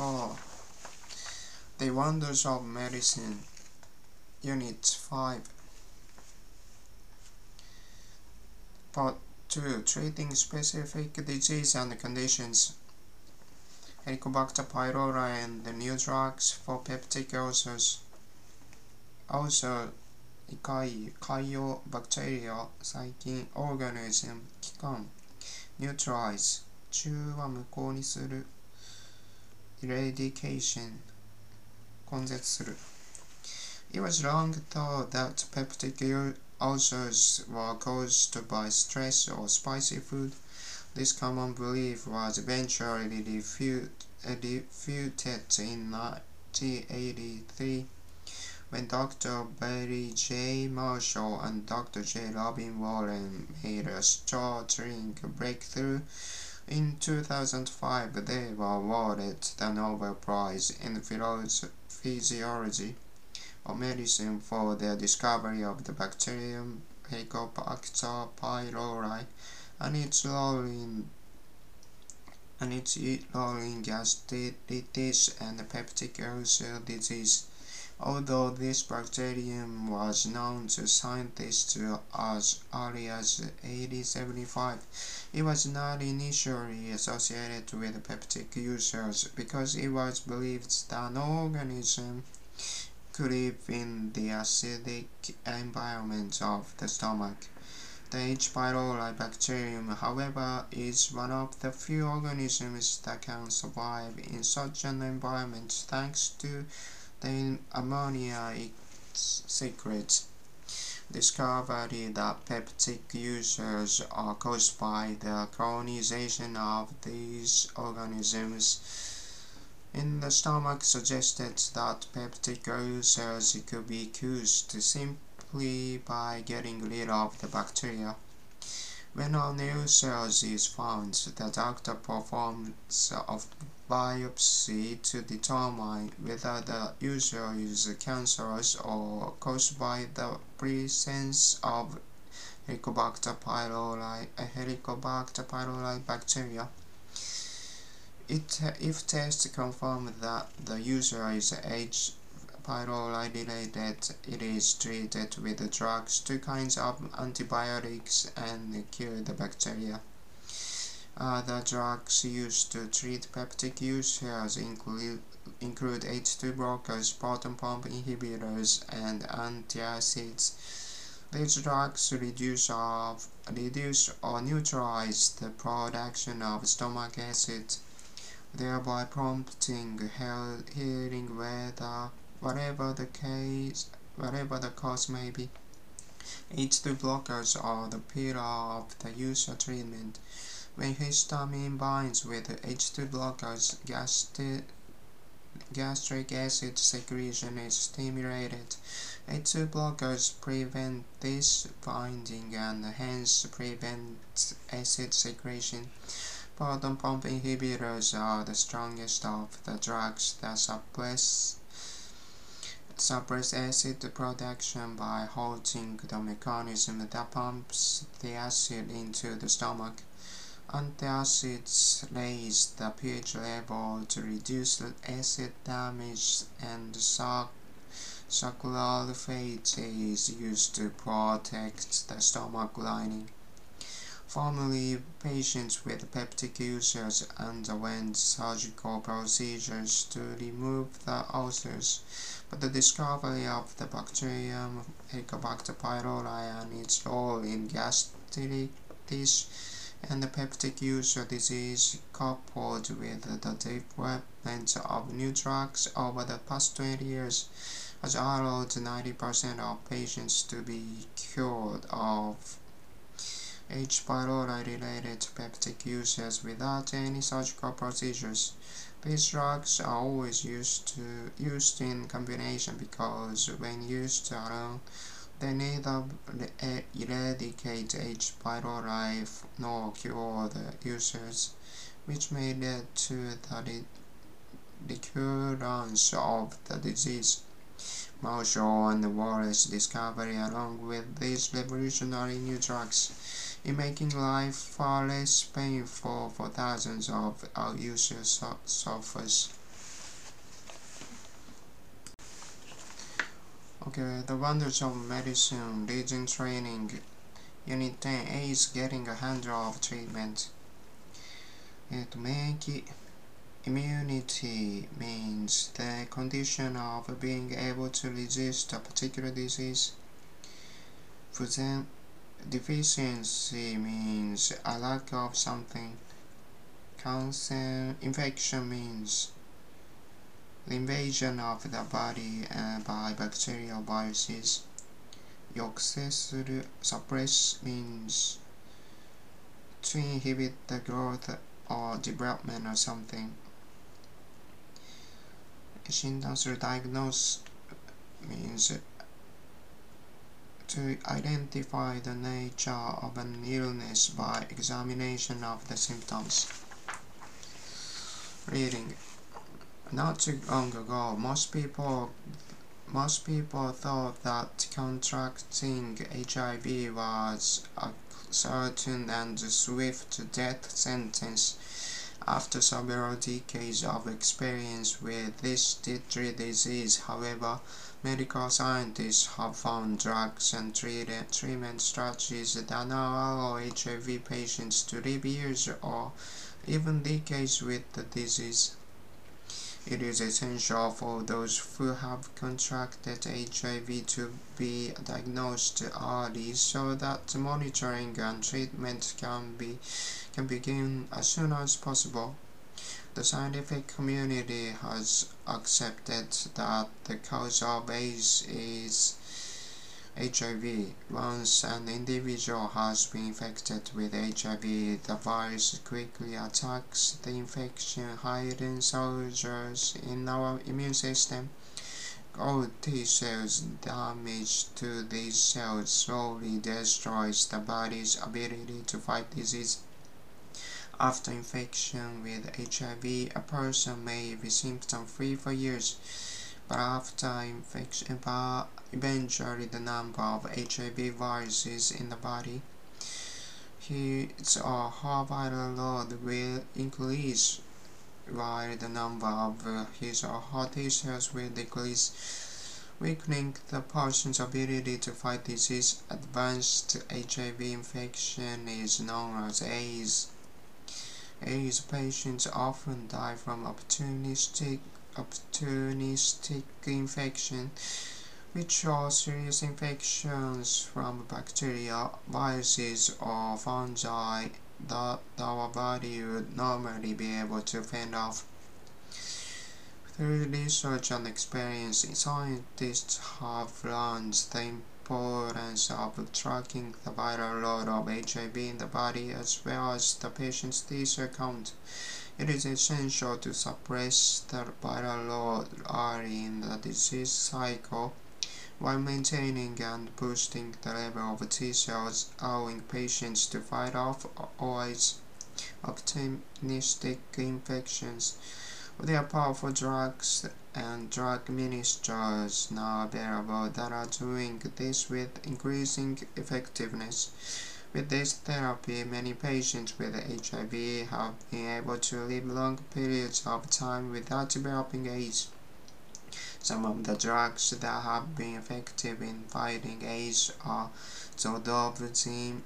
4. The Wonders of Medicine, Unit 5. Part 2. Treating specific disease and conditions. Helicobacter pylori and the new drugs for peptic ulcers. Also, Caeobacteria, 細菌、organism、器官、neutralize、中和無効にする、eradication、根絶する。It was long thought that peptic ulcers were caused by stress or spicy food. This common belief was eventually refuted in 1983 when Dr. Barry J. Marshall and Dr. J. Robin Warren made a startling breakthrough. In 2005, they were awarded the Nobel Prize in Physiology or Medicine for their discovery of the bacterium Helicobacter pylori and its role in gastritis and peptic ulcer disease. Although this bacterium was known to scientists as early as 1875, it was not initially associated with peptic ulcers because it was believed that no organism could live in the acidic environment of the stomach. The H. pylori bacterium, however, is one of the few organisms that can survive in such an environment thanks to the ammonia it secretes. Discovery that peptic ulcers are caused by the colonization of these organisms in the stomach suggested that peptic ulcers could be caused simply by getting rid of the bacteria. When an ulcer is found, the doctor performs a biopsy to determine whether the ulcer is cancerous or caused by the presence of Helicobacter pylori bacteria. If tests confirm that the ulcer is H. pylori related, it is treated with drugs, 2 kinds of antibiotics, and kill the bacteria. Other drugs used to treat peptic ulcers include H2 blockers, proton pump inhibitors, and antacids. These drugs reduce or neutralize the production of stomach acid, thereby prompting healing whatever the cause may be. H2 blockers are the pillar of the ulcer treatment. When histamine binds with H2 blockers, gastric acid secretion is stimulated. H2 blockers prevent this binding and hence prevent acid secretion. Proton pump inhibitors are the strongest of the drugs that suppress acid production by halting the mechanism that pumps the acid into the stomach. Antacids raise the pH level to reduce acid damage, and sucralfate is used to protect the stomach lining. Formerly, patients with peptic ulcers underwent surgical procedures to remove the ulcers, but the discovery of the bacterium Helicobacter pylori and its role in gastritis and the peptic ulcer disease, coupled with the development of new drugs over the past 20 years, has allowed 90% of patients to be cured of H. pylori related peptic ulcers without any surgical procedures. These drugs are always used in combination because when used alone, they neither eradicate H. pylori nor cure the ulcers, which may lead to the recurrence of the disease. Marshall and Wallace's discovery, along with these revolutionary new drugs, in making life far less painful for thousands of ulcer sufferers. Okay, the wonders of medicine, Legion training. Unit 10A is getting a handle of treatment. 免疫 Immunity means the condition of being able to resist a particular disease. Deficiency means a lack of something. Infection means the invasion of the body by bacterial viruses. 抑制する suppress means to inhibit the growth or development of something. 診断する diagnose means to identify the nature of an illness by examination of the symptoms. Reading. Not too long ago, most people thought that contracting HIV was a certain and swift death sentence. After several decades of experience with this deadly disease, however, medical scientists have found drugs and treatment strategies that now allow HIV patients to live years or even decades with the disease. It is essential for those who have contracted HIV to be diagnosed early so that monitoring and treatment can begin as soon as possible. The scientific community has accepted that the cause of AIDS is HIV. Once an individual has been infected with HIV, the virus quickly attacks the infection hidden soldiers in our immune system. Old T cells damage to these cells slowly destroys the body's ability to fight disease. After infection with HIV, a person may be symptom-free for years, but after infection, eventually the number of HIV viruses in the body, his or her viral load will increase, while the number of his or her T cells will decrease, weakening the person's ability to fight disease. Advanced HIV infection is known as AIDS. AIDS patients often die from opportunistic infection, which are serious infections from bacteria, viruses, or fungi that our body would normally be able to fend off. Through research and experience, scientists have learned the importance of tracking the viral load of HIV in the body as well as the patient's T cell count. It is essential to suppress the viral load early in the disease cycle while maintaining and boosting the level of T cells, allowing patients to fight off always opportunistic infections. There are powerful drugs and drug ministers now available that are doing this with increasing effectiveness. With this therapy, many patients with HIV have been able to live long periods of time without developing AIDS. Some of the drugs that have been effective in fighting AIDS are zolpidem,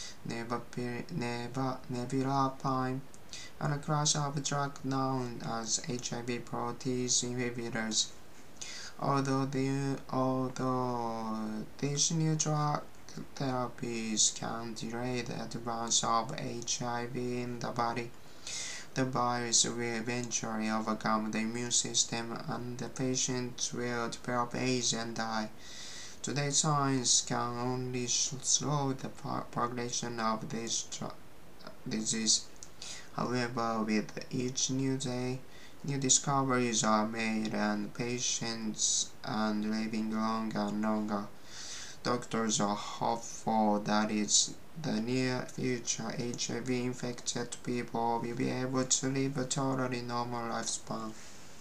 nevirapine, and a class of drugs known as HIV protease inhibitors. Although these new drug therapies can delay the advance of HIV in the body, the virus will eventually overcome the immune system and the patient will develop AIDS and die. Today, science can only slow the progression of this disease. However, with each new day, new discoveries are made and patients are living longer and longer. Doctors are hopeful that in the near future, HIV-infected people will be able to live a totally normal lifespan.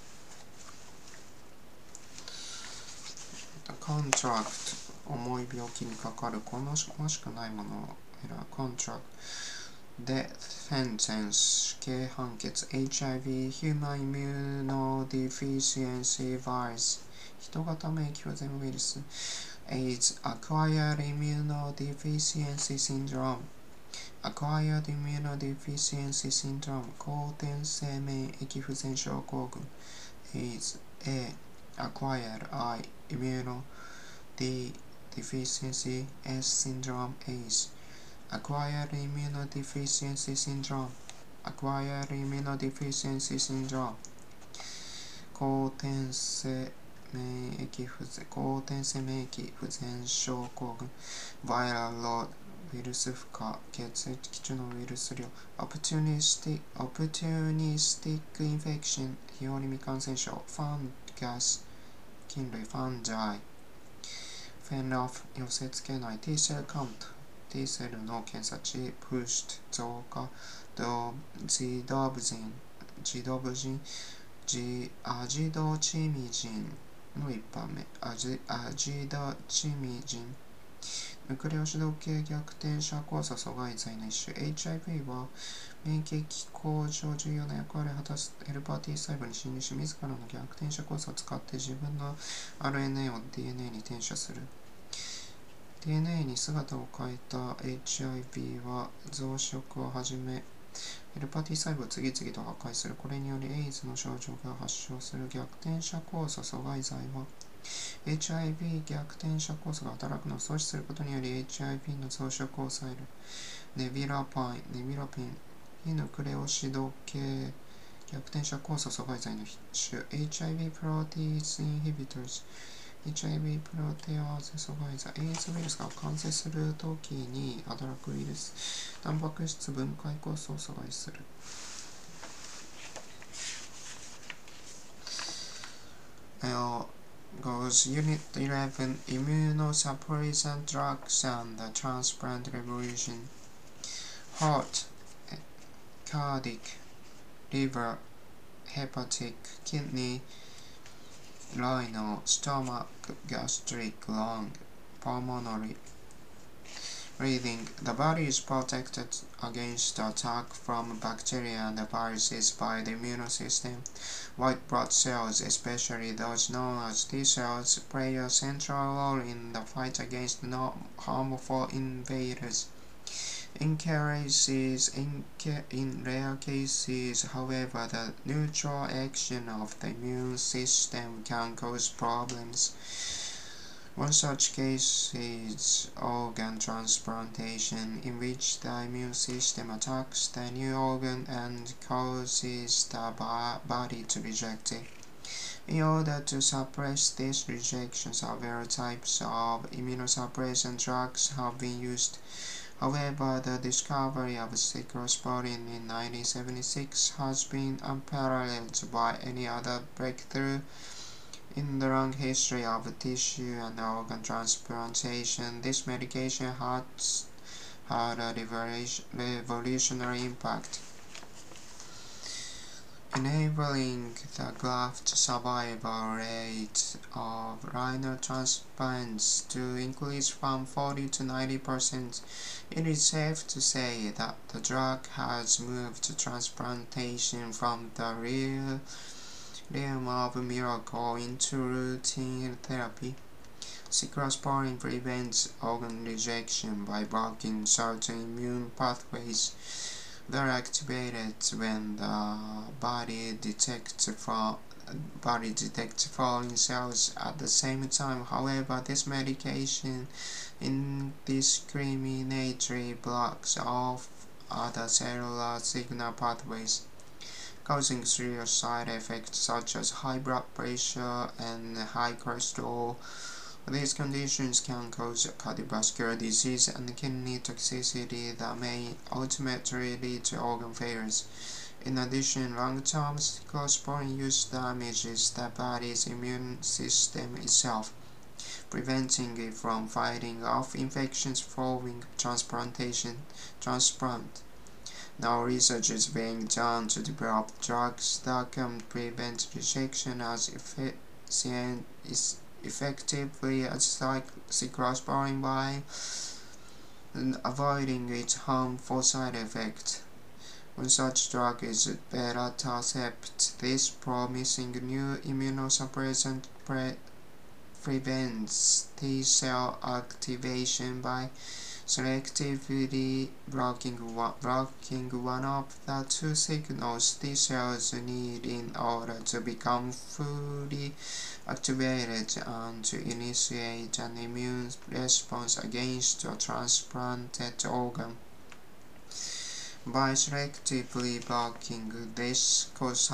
Contract 重い病気にかかる好ましくないものを選ぶ Contract Death Sentence 死刑判決 HIV Human Immunodeficiency Virus 人型免疫不全ウイルス AIDS Acquired Immunodeficiency Syndrome Acquired Immunodeficiency Syndrome 後天性免疫不全症候群 AIDS A Acquired I Immunodeficiency S Syndrome AIDS Acquired Immunodeficiency Syndrome Acquired Immunodeficiency Syndrome 後天性免疫不全症候群 Viral load ウイルス負荷血液中のウイルス量 Opportunistic infection 日和見感染症 Fungus 菌類 Fungi Fenoph 寄せ付けない T セルカウント T セルの検査値 Pushed 増加ジドブジンアジドチミジンの一般名アジドチミジンヌクレオ主導系逆転者交差阻害剤の一種 HIV は免疫向上重要な役割を果たすヘルパー T 細胞に侵入し自らの逆転者交差を使って自分の RNA を DNA に転写する DNA に姿を変えた HIV は増殖をはじめヘルパー T 細胞を次々と破壊する。これによりエイズの症状が発症する逆転者交差阻害剤は HIV 逆転者交差が働くのを阻止することにより HIV の増殖を抑える。ネビラピン非ヌクレオシド系逆転者交差阻害剤の種 HIV プロテイーズインヒビトルズ HIV プロテアーゼ阻害剤エイズウイルスが感染するときに働くウイルスタンパク質分解酵素を阻害する。Goes Unit 11 Immunosuppressant Drugs and the Transplant Revolution Heart, Cardiac, Liver, Hepatic, Kidney, Renal, Stomach, Gastric, Lung, Pulmonary Breathing. The body is protected against attack from bacteria and viruses by the immune system. White blood cells, especially those known as T cells, play a central role in the fight against harmful invaders. In rare cases, however, the neutral action of the immune system can cause problems. One such case is organ transplantation, in which the immune system attacks the new organ and causes the body to reject it. In order to suppress this rejection, several types of immunosuppressant drugs have been used. However, the discovery of cyclosporin in 1976 has been unparalleled by any other breakthrough in the long history of tissue and organ transplantation. This medication has had a revolutionary impact, enabling the graft survival rate of renal transplants to increase from 40 to 90%. It is safe to say that the drug has moved transplantation from the realm of miracle into routine therapy. Cyclosporin prevents organ rejection by blocking certain immune pathways that are activated when the body detects foreign cells at the same time. However, this medication indiscriminately blocks off other cellular signal pathways, causing serious side effects such as high blood pressure and high cholesterol. These conditions can cause cardiovascular disease and kidney toxicity that may ultimately lead to organ failures. In addition, long-term cyclosporin use damages the body's immune system itself, preventing it from fighting off infections following transplant. Now research is being done to develop drugs that can prevent rejection as effectively as cyclosporin by avoiding its harmful side effects. One such drug is belatacept. This promising new immunosuppressant prevents T-cell activation by selectively blocking one of the two signals T-cells need in order to become fully activated and to initiate an immune response against a transplanted organ. By selectively blocking this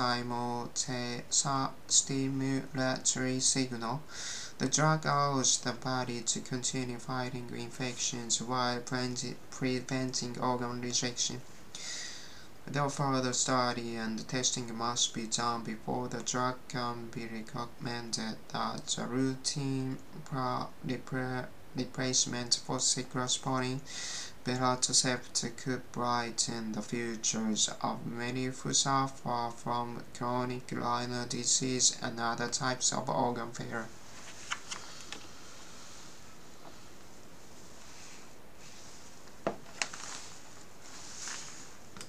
costimulatory signal, the drug allows the body to continue fighting infections while preventing organ rejection. Though further study and testing must be done before the drug can be recommended as a routine replacement for cephalosporin, belatacept could brighten the futures of many who suffer from chronic renal disease and other types of organ failure.